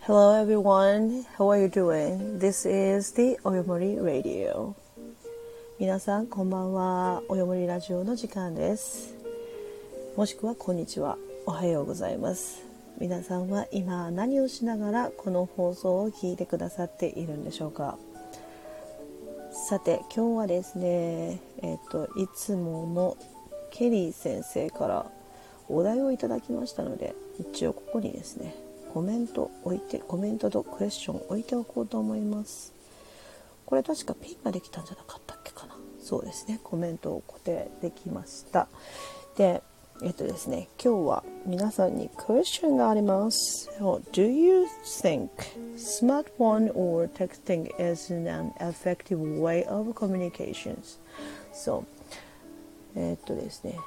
Hello everyone, how are you doing? This is the Oyomori Radio. 皆さんこんばんは。およもりラジオの時間です。もしくはこんにちは、おはようございます。皆さんは今何をしながらこの放送を聞いてくださっているんでしょうか。さて今日はですね、いつものケリー先生からお題をいただきましたので、一応ここにですねコメントとクエスチョン置いておこうと思います。これ確かピンができたんじゃなかったっけかな。そうですね、コメントを固定できました。で、ですね、今日は皆さんにクエスチョンがあります。Do you think smartphone or texting is an effective way of communications? ですね、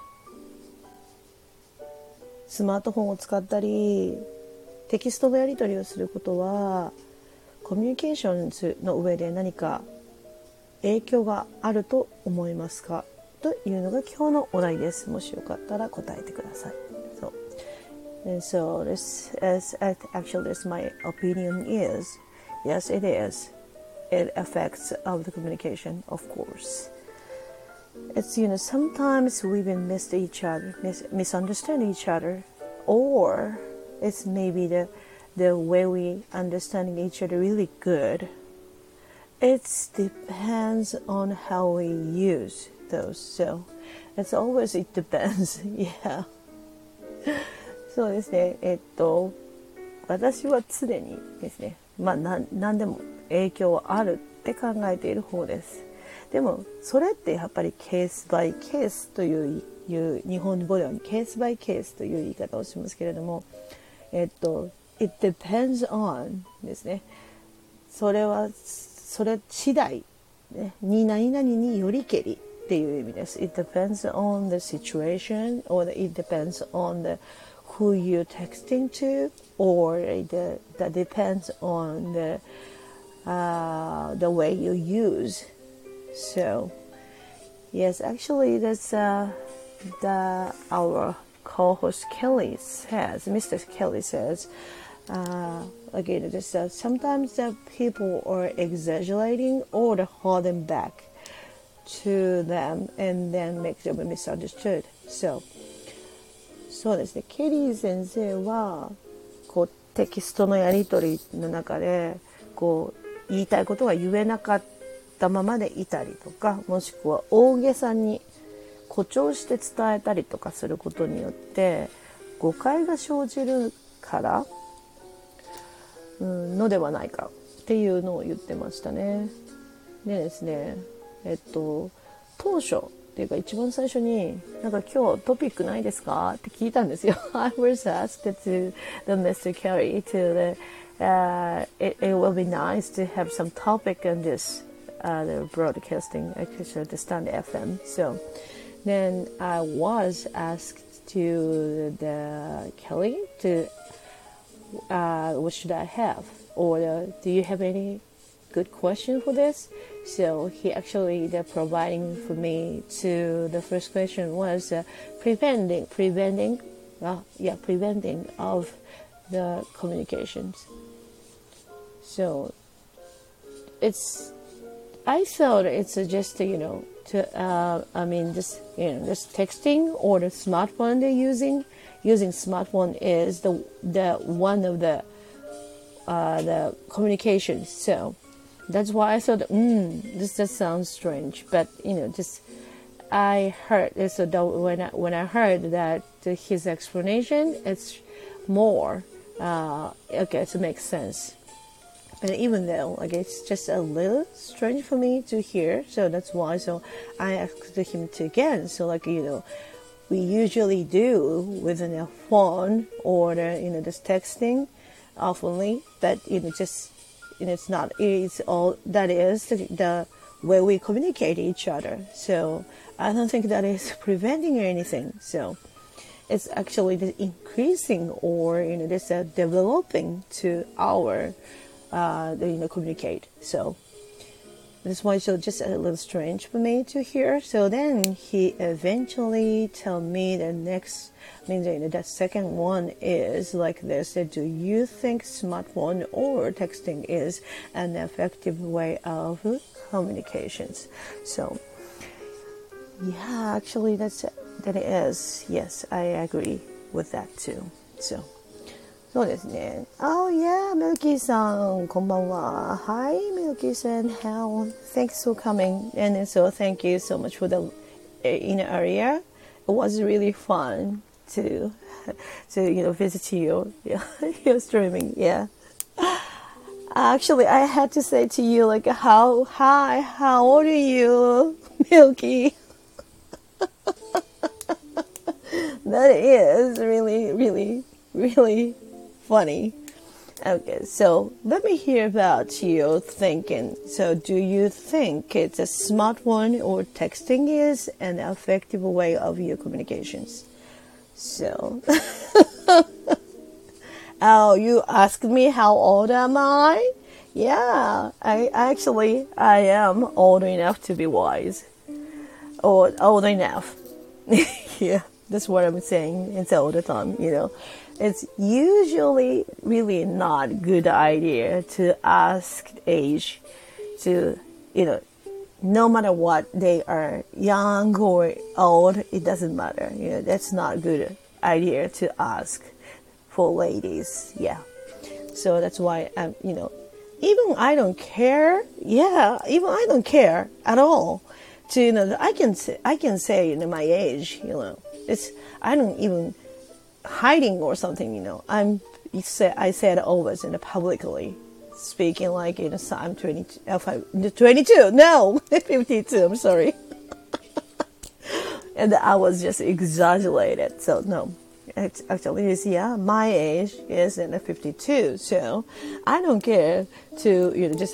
スマートフォンを使ったりテキストのやり取りをすることはコミュニケーションの上で何か影響があると思いますかというのが今日のお題です。もしよかったら答えてください。So this is actually this my opinion is yes it is. It affects of the communication, of course. It's sometimes we even misunderstand each other, or it's maybe the way we understand each other really good. It depends on how we use those. So it's always it depends. Yeah. そうですね。私は常にですね、何でも影響はあるって考えている方です。でもそれってやっぱりケースバイケースという日本語ではケースバイケースという言い方をしますけれども、it depends on ですね。それ次第、ね、何々によりけりっていう意味です。It depends on the situation, or it depends on who you're texting to, or that depends on the way you use. So yes, actually that's our co-host Kelly says, Mr. Kelly says, again, this, sometimes people are exaggerating or holding back to them and then make them misunderstood. So そうですね、ケリー先生はこうテキストのやり取りの中でこう言いたいことが言えなかったままでいたりとか、もしくは大げさに誇張して伝えたりとかすることによって誤解が生じるからのではないかっていうのを言ってましたね。でですね、当初っていうか一番最初になんか今日トピックないですかって聞いたんですよ。I was asked to the Mr. Kelly to it will be nice to have some topic on this the broadcasting, actually the Stand FM. So then I was asked to the Kelly to what should I have, or do you have any good question for this? So he actually providing for me to the first question was preventing of the communications. So I thought it's just just texting or the smartphone they're using smartphone is the one of the communications. So that's why I thought this just sounds strange, but I heard this. So when I heard that his explanation, it's more okay, so it makes sense. But even though it's just a little strange for me to hear, so that's why I asked him to again. So we usually do with a phone or just texting oftenly, but it's not. It's all that is the way we communicate each other. So I don't think that is preventing anything. So it's actually increasing or developing to our communicate. So That's why it's just a little strange for me to hear. So then he eventually tell me the next, I mean, the second one is like this. Do you think smartphone or texting is an effective way of communications? So, yeah, actually that is. Yes, I agree with that too. So. そうですね。Oh yeah, Milky さん、こんばんは。Hi, Milky さん. How? Thanks for coming. And so thank you so much for the area. It was really fun to visit you. Yeah, your streaming. Yeah. Actually, I had to say to you like, how old are you, Milky? That is really, really, really funny. Okay, so let me hear about your thinking. So do you think it's a smartphone or texting is an effective way of your communications? So, oh, you asked me how old am I? Yeah, I am old enough to be wise. Or old enough. Yeah, that's what I'm saying. It's all the time, It's usually really not good idea to ask age to, no matter what they are, young or old, it doesn't matter. That's not a good idea to ask for ladies. Yeah. So that's why even I don't care. Yeah, even I don't care at all. To I can say my age. I don't even hiding or something, I said always publicly speaking like, so I'm 22, no, 52, I'm sorry. And I was just exaggerated, so no, it's actually my age is in 52, so I don't care to, just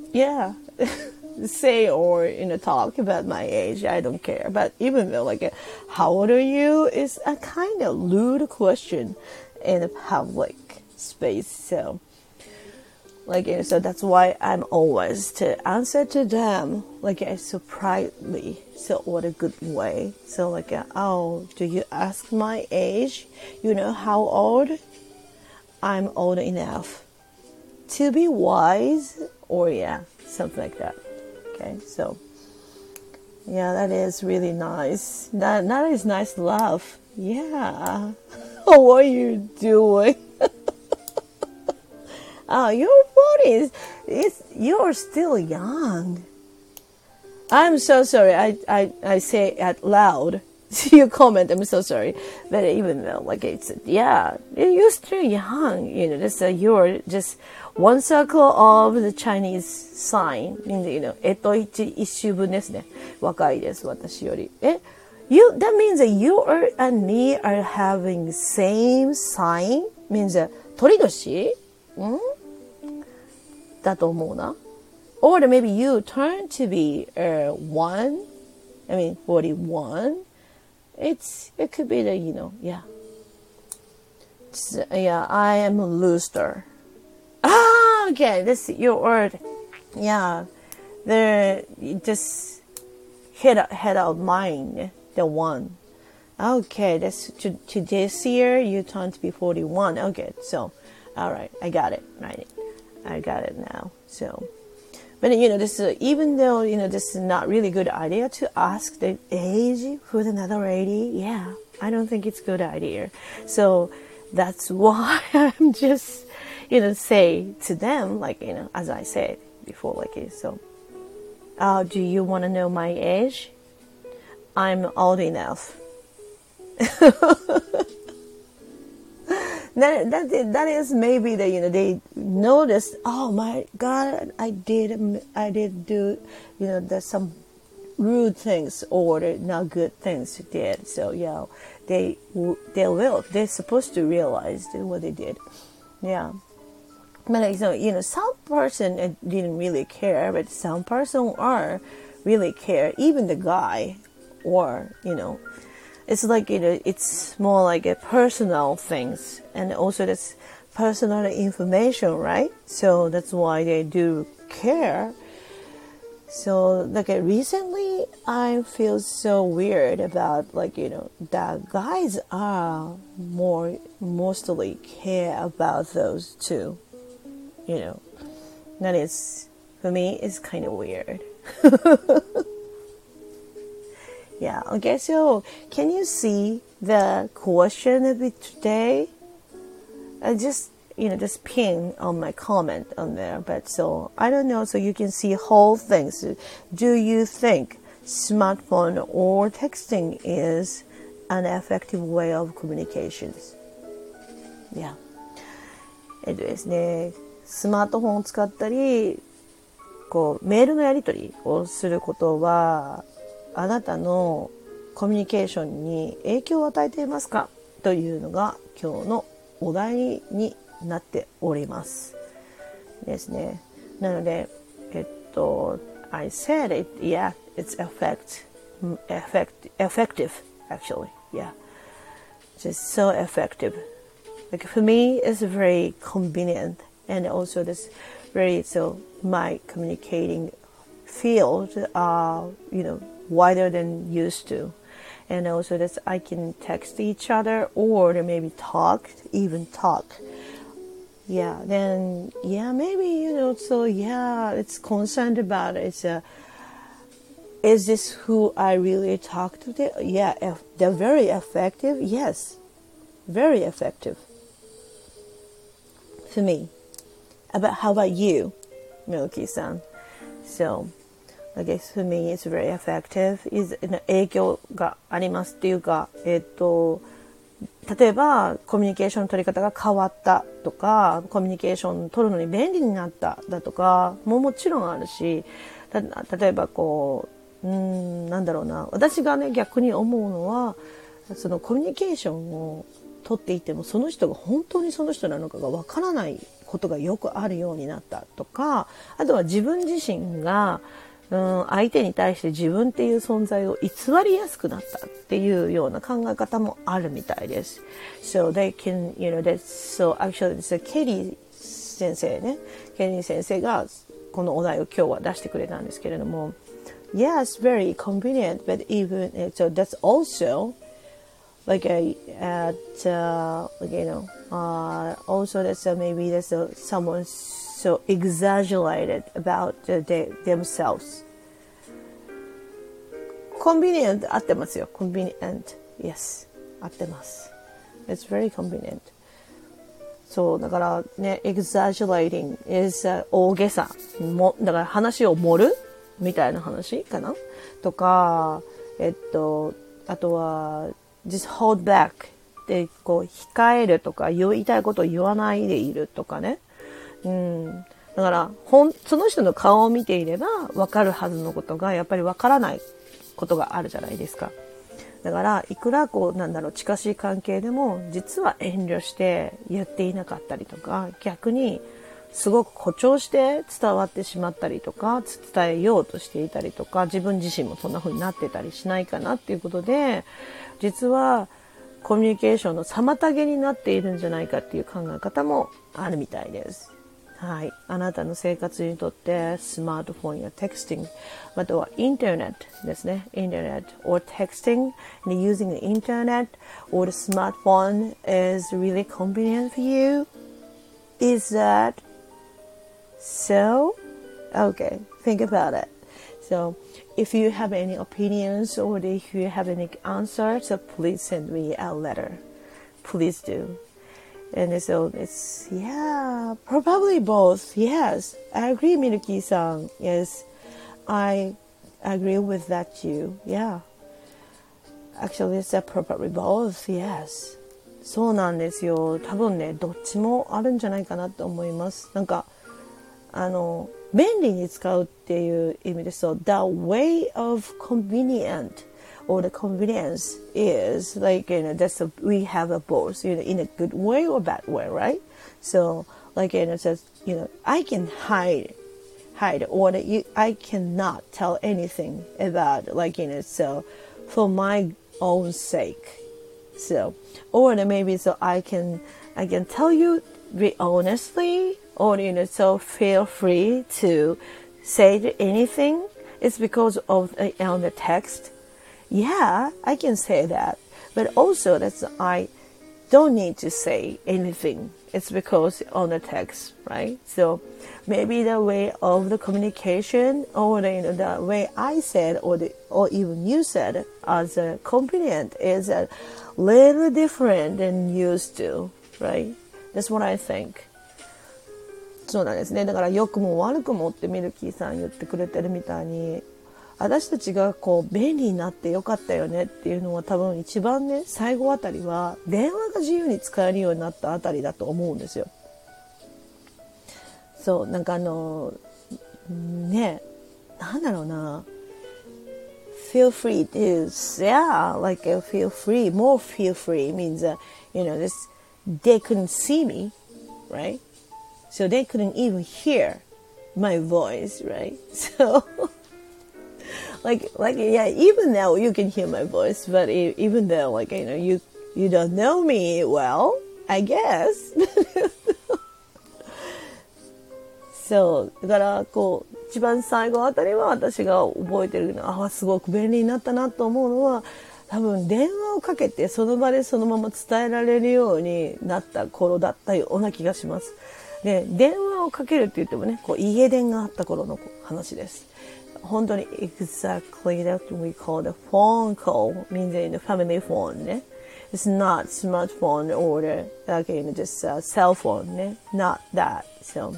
say or talk about my age. I don't care. But even though how old are you is a kind of rude question in a public space. So so that's why I'm always to answer to them surprisingly, so what a good way. So oh, do you ask my age? How old? I'm old enough to be wise, or something like that. Okay, so that is really nice. That is nice laugh. Yeah. What are you doing? Oh, your body you're still young. I'm so sorry. I say it loud. Your comment. I'm so sorry. But even though you're still young. You're just one circle of the Chinese sign. 一周分ですね。若いです、私より。that means that you and me are having same sign? Means 鳥年？だと思うな。Or maybe you turn to be 41. It could be the, I am a loser. Ah, okay, this is your word. Yeah, just head out mine, the one. Okay, that's to this year you turn to be 41. Okay, so, all right, I got it, right? I got it now. So, but this is, even though this is not really good idea to ask the age for another lady. Yeah, I don't think it's a good idea. So that's why I'm just say to them as I said before, so. Do you want to know my age? I'm old enough. That is maybe they noticed. Oh my God, I did do there's some rude things or not good things did. So they're supposed to realize what they did. Yeah. But some person didn't really care, but some person are really care. Even the guy, or it's it's more like a personal things, and also that's personal information, right? So that's why they do care. So like recently I feel so weird about that guys are mostly care about those two. That is, for me, it's kind of weird. Yeah, okay, so can you see the question of it today? I just ping on my comment on there. But so I don't know. So you can see whole things. Do you think smartphone or texting is an effective way of communications? Yeah. ですね。スマートフォンを使ったり、メールのやり取りをすることは、あなたのコミュニケーションに影響を与えていますかというのが今日のお題になっておりますですね。なのでI said it, yeah, it's effective actually, yeah, just so effective. Like for me, it's very convenient, and also this very my communicating field are wider than used to. And also that I can text each other or maybe talk. Yeah, then, yeah, maybe, so yeah, it's concerned about it. Is this who I really talk to? Yeah, they're very effective. Yes, very effective for me. How about you, Milky-san? So, I guess for me it's very effective. 影響がありますっていうか、例えばコミュニケーションの取り方が変わったとか、コミュニケーション取るのに便利になっただとかもちろんあるし、例えばなんだろうな、私がね逆に思うのは、そのコミュニケーションを取っていてもその人が本当にその人なのかがわからないことがよくあるようになったとか、あとは自分自身が相手に対して自分っていう存在を偽りやすくなったっていうような考え方もあるみたいです。So they can, so actually,ケリー先生ね、ケリー先生がこのお題を今日は出してくれたんですけれども、Yes, very convenient, but even, so that's also also that's maybe there's someone so exaggerated about themselves. Convenient 合ってますよ。Convenient. Yes. 合ってます。It's very convenient. そう、だからね、exaggerating is 大げさ。だから話を盛るみたいな話かなとか、あとは、just hold back で、控えるとか、言いたいことを言わないでいるとかね。だから、その人の顔を見ていれば分かるはずのことが、やっぱり分からないことがあるじゃないですか。だから、いくら近しい関係でも、実は遠慮して言っていなかったりとか、逆に、すごく誇張して伝わってしまったりとか、伝えようとしていたりとか、自分自身もそんな風になってたりしないかなっていうことで、実はコミュニケーションの妨げになっているんじゃないかっていう考え方もあるみたいです。はい。あなたの生活にとってスマートフォンやテクスティング、またはインターネットですね。インターネット or texting and using the internet or the smartphone is really convenient for you. Is that so? Okay, think about it. So, if you have any opinions or if you have any answers, so please send me a letter. Please do. And so it's, yeah, probably both. Yes, I agree, Miruki-san. Yes, I agree with that too. Yeah. Actually, it's probably both. Yes. そうなんですよ。多分ね、どっちもあるんじゃないかなと思います。便利に使うっていう意味ですと、the way of convenient or the convenience is that's we have a both, in a good way or bad way, right? So, it says, I can hide or I cannot tell anything about, so for my own sake. So, or maybe so I can tell you very honestly, or so feel free to say anything it's because of on the text. Yeah, I can say that. But also I don't need to say anything. It's because on the text, right? So maybe the way of the communication or the way I said or even you said as a compliment is a little different than used to, right? That's what I think. そうなんですね。だから良くも悪くもってミルキーさん言ってくれてるみたいに、私たちがこう便利になってよかったよねっていうのは多分一番ね、最後あたりは電話が自由に使えるようになったあたりだと思うんですよ。そう、なんかね、なんだろうな。feel free is, yeah, like feel free, more feel free means, they couldn't see me, right? So they couldn't even hear my voice, right? So, like, yeah, even now you can hear my voice, but even though, like, you don't know me well, I guess. そう、だからこう一番最後あたりは私が覚えてるのすごく便利になったなと思うのは、多分電話をかけてその場でそのまま伝えられるようになった頃だったような気がします。で、電話をかけるって言ってもね、こう家電があった頃の話です。本当に exactly that we call the phone call, means in the family phone ね。It's not smartphone or just cell phone ね。Not that. So,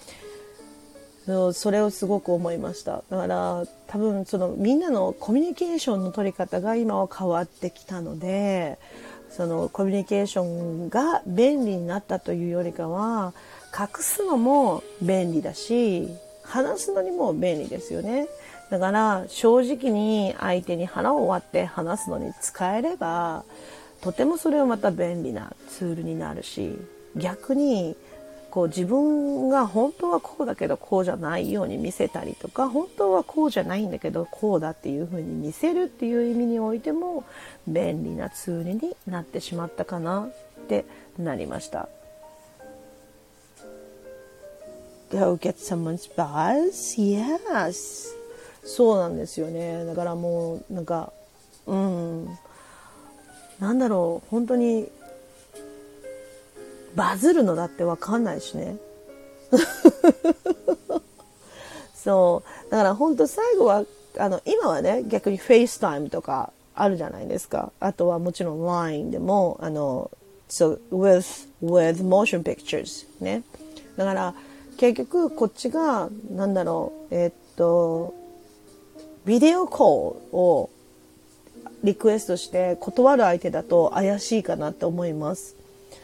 それをすごく思いました。だから多分みんなのコミュニケーションの取り方が今は変わってきたので、そのコミュニケーションが便利になったというよりかは、隠すのも便利だし、話すのにも便利ですよね。だから正直に相手に腹を割って話すのに使えれば、とてもそれはまた便利なツールになるし、逆にこう自分が本当はこうだけどこうじゃないように見せたりとか、本当はこうじゃないんだけどこうだっていう風に見せるっていう意味においても便利なツールになってしまったかなってなりました。Go get someone's buzz? Yes. そうなんですよね。だからもうなんか、なんだろう、本当にバズるのだってわかんないしね。そう。だから本当最後は、今はね、逆に FaceTime とかあるじゃないですか。あとはもちろん LINE でも、so with motion pictures ね。だから、結局こっちが、なんだろう、ビデオコールをリクエストして断る相手だと怪しいかなって思います。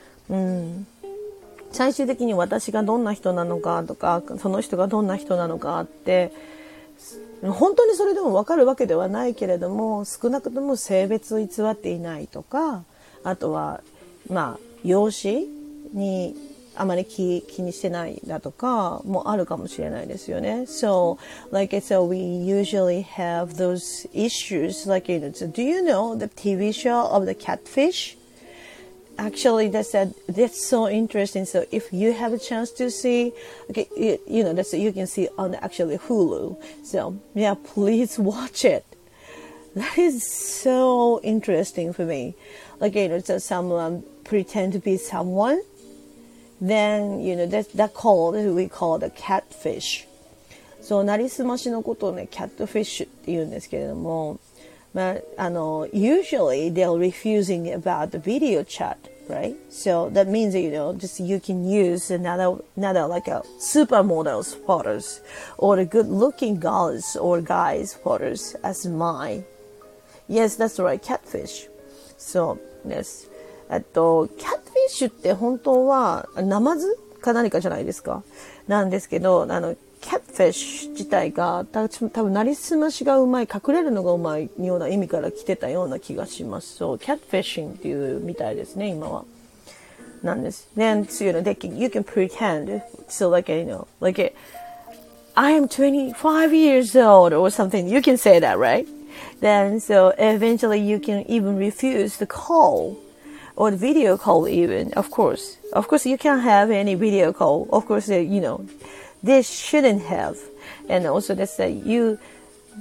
最終的に私がどんな人なのかとか、その人がどんな人なのかって本当にそれでも分かるわけではないけれども、少なくとも性別を偽っていないとか、あとは容姿にあまり気にしてないだとかもあるかもしれないですよね。So, like I said, we usually have those issues. Like, do you know the TV show of the catfish?Actually, that's so interesting. So if you have a chance to see, okay, that's you can see on actually Hulu. So yeah, please watch it. That is so interesting for me. Like, so someone pretend to be someone, then that called we call the catfish. So なりすましのことをね、catfish って言うんですけれども。usually they're refusing about the video chat, right? So that means just you can use another like a supermodel's photos or the good-looking girls or guys' photos as mine. Yes, that's right, catfish. So yes, キャットフィッシュって本当はナマズか何かじゃないですか。なんですけど、キャットフィッシュ自体が多分なりすましがうまい、隠れるのがうまいような意味から来てたような気がします。そう、キャットフィッシングっていうみたいですね、今は。なんです。Then, you can pretend, so like, like, I am 25 years old or something. You can say that, right? Then, so eventually you can even refuse the call or the video call even, of course. Of course, you can't have any video call. Of course, they shouldn't have. And also that's that you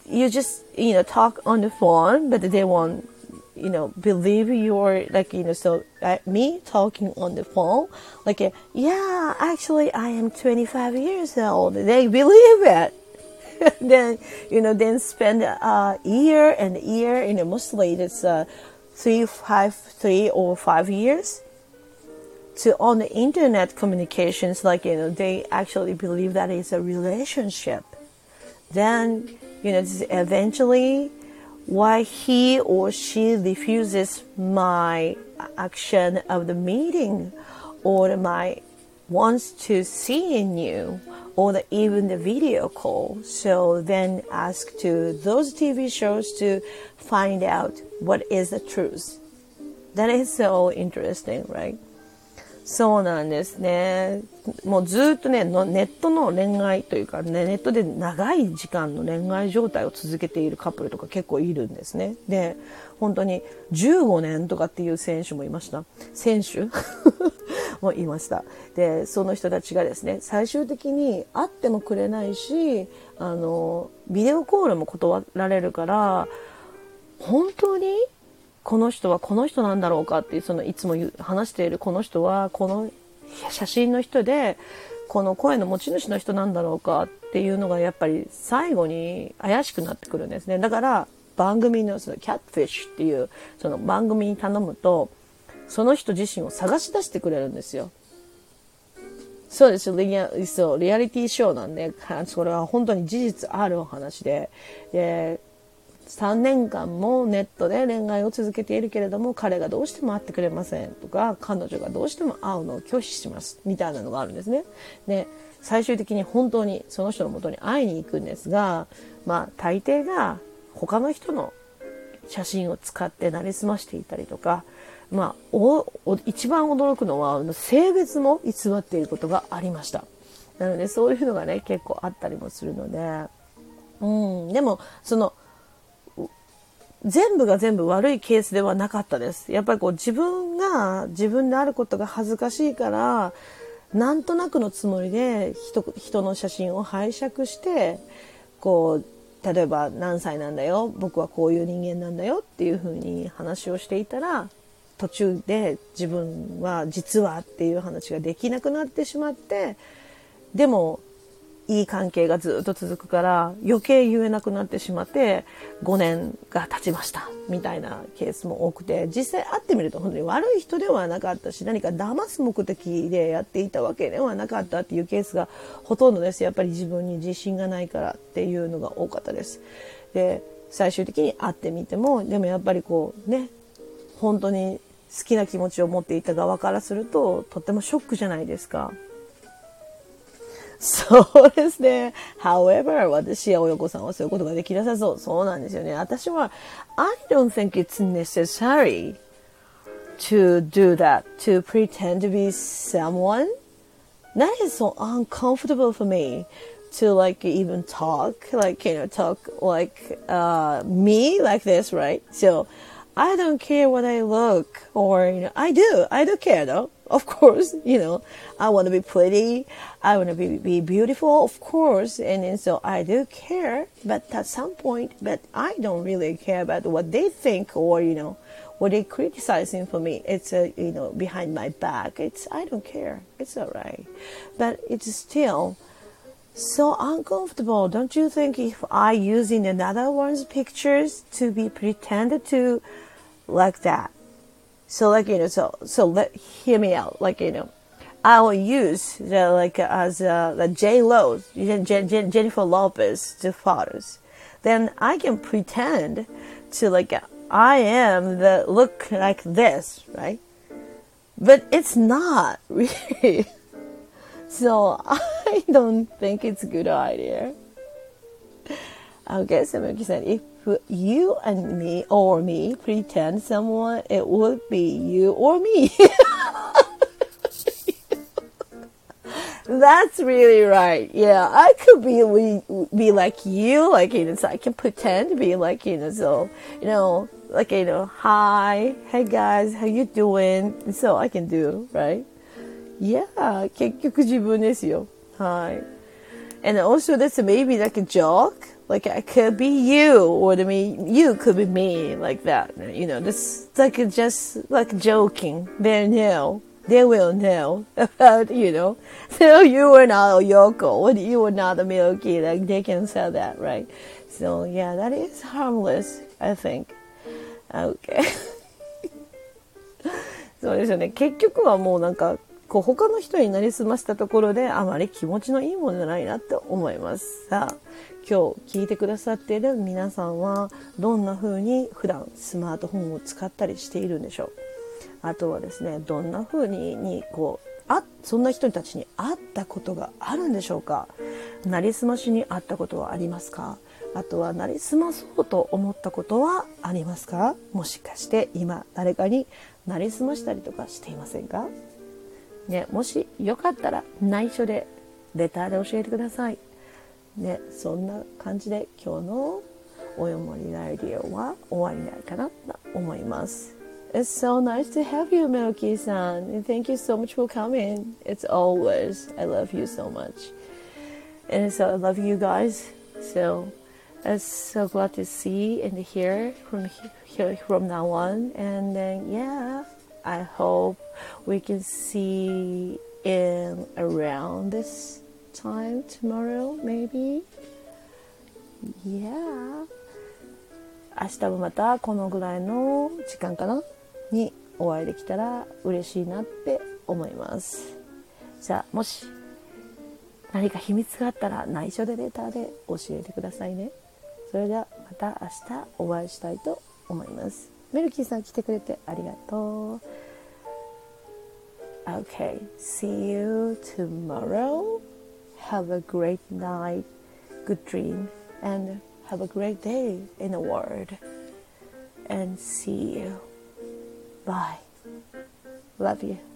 you just, talk on the phone, but they won't, believe you're like, so me talking on the phone, like, yeah, actually I am 25 years old. They believe it. Then, then spend a year and year, mostly it's 3 or 5 years to on the internet communications, like, they actually believe that it's a relationship. Then, eventually why he or she refuses my action of the meeting or my wants to see you or even the video call. So then ask to those TV shows to find out what is the truth. That is so interesting, right? そうなんですね。もうずっとね、ネットの恋愛というか、ね、ネットで長い時間の恋愛状態を続けているカップルとか結構いるんですね。で、本当に15年とかっていう選手もいました。選手もいました。で、その人たちがですね、最終的に会ってもくれないし、ビデオコールも断られるから、本当にこの人はこの人なんだろうかっていう、いつも話しているこの人はこの写真の人でこの声の持ち主の人なんだろうかっていうのがやっぱり最後に怪しくなってくるんですね。だから番組のキャットフィッシュっていうその番組に頼むとその人自身を探し出してくれるんですよ。そうですよ。リアリティショーなんで、それは本当に事実あるお話で、3年間もネットで恋愛を続けているけれども彼がどうしても会ってくれませんとか彼女がどうしても会うのを拒否しますみたいなのがあるんですね。で、最終的に本当にその人の元に会いに行くんですが、大抵が他の人の写真を使ってなりすましていたりとか、一番驚くのは性別も偽っていることがありました。なのでそういうのがね結構あったりもするので、でも全部が全部悪いケースではなかったです。やっぱり自分が自分であることが恥ずかしいからなんとなくのつもりで人の写真を拝借して例えば何歳なんだよ、僕はこういう人間なんだよっていう風に話をしていたら途中で自分は実はっていう話ができなくなってしまって、でもいい関係がずっと続くから余計言えなくなってしまって5年が経ちましたみたいなケースも多くて、実際会ってみると本当に悪い人ではなかったし何か騙す目的でやっていたわけではなかったっていうケースがほとんどです。やっぱり自分に自信がないからっていうのが多かったです。で、最終的に会ってみてもでもやっぱり本当に好きな気持ちを持っていた側からするととってもショックじゃないですか。そうですね。However, 私や親子さんはそういうことができなさそう。そうなんですよね。私は I don't think it's necessary to do that, to pretend to be someone. That is so uncomfortable for me to even talk, talk like me like this, right? So I don't care what I look or, I do care though. Of course, I want to be pretty. I want to be beautiful, of course. And then, so I do care, but at some point, but I don't really care about what they think or, what they criticizing for me. It's, behind my back. I don't care. It's all right. But it's still so uncomfortable. Don't you think if I using another one's pictures to be pretended to like that? So hear me out. I will use the J-Lo, Jennifer Lopez, the photos. Then I can pretend to I am the look like this, right? But it's not really. So I don't think it's a good idea. Okay, so Miki said, if you and me or me pretend someone, it would be you or me. That's really right. Yeah, I could be like you, so I can pretend to be like, so, hi, hey guys, how you doing? So I can do, right? Yeah, 結局自分ですよ。はい。 And also that's maybe like a joke. Like it could be you, or you could be me, like that. This like just like joking. They will know about, So you were not a Yoko, you were not a Milky. Like they can say that, right? So yeah, that is harmless, I think. Okay. そうですよね。結局はもうなんか他の人になりすましたところであまり気持ちのいいものじゃないなって思います。さあ、今日聞いてくださっている皆さんはどんな風に普段スマートフォンを使ったりしているんでしょう。あとはですね、どんな風にそんな人たちに会ったことがあるんでしょうか。なりすましに会ったことはありますか。あとはなりすまそうと思ったことはありますか。もしかして今誰かになりすましたりとかしていませんかね。もしよかったら内緒でレターで教えてくださいね。そんな感じで今日のおよもりラディオは終わりないかなと思います。It's so nice to have you, Milky-san. And thank you so much for coming. It's always, I love you so much. And so I love you guys. So I'm so glad to see and hear from now on. And then, yeah, I hope we can see in around this time tomorrow, maybe. Yeah. 明日もまたこのぐらいの時間かなにお会いできたら嬉しいなって思います。じゃあもし何か秘密があったら内緒でレターで教えてくださいね。それではまた明日お会いしたいと思います。メルキーさん来てくれてありがとう。Okay, see you tomorrow. Have a great night, good dream, and have a great day in the world. And see you. Bye. Love you.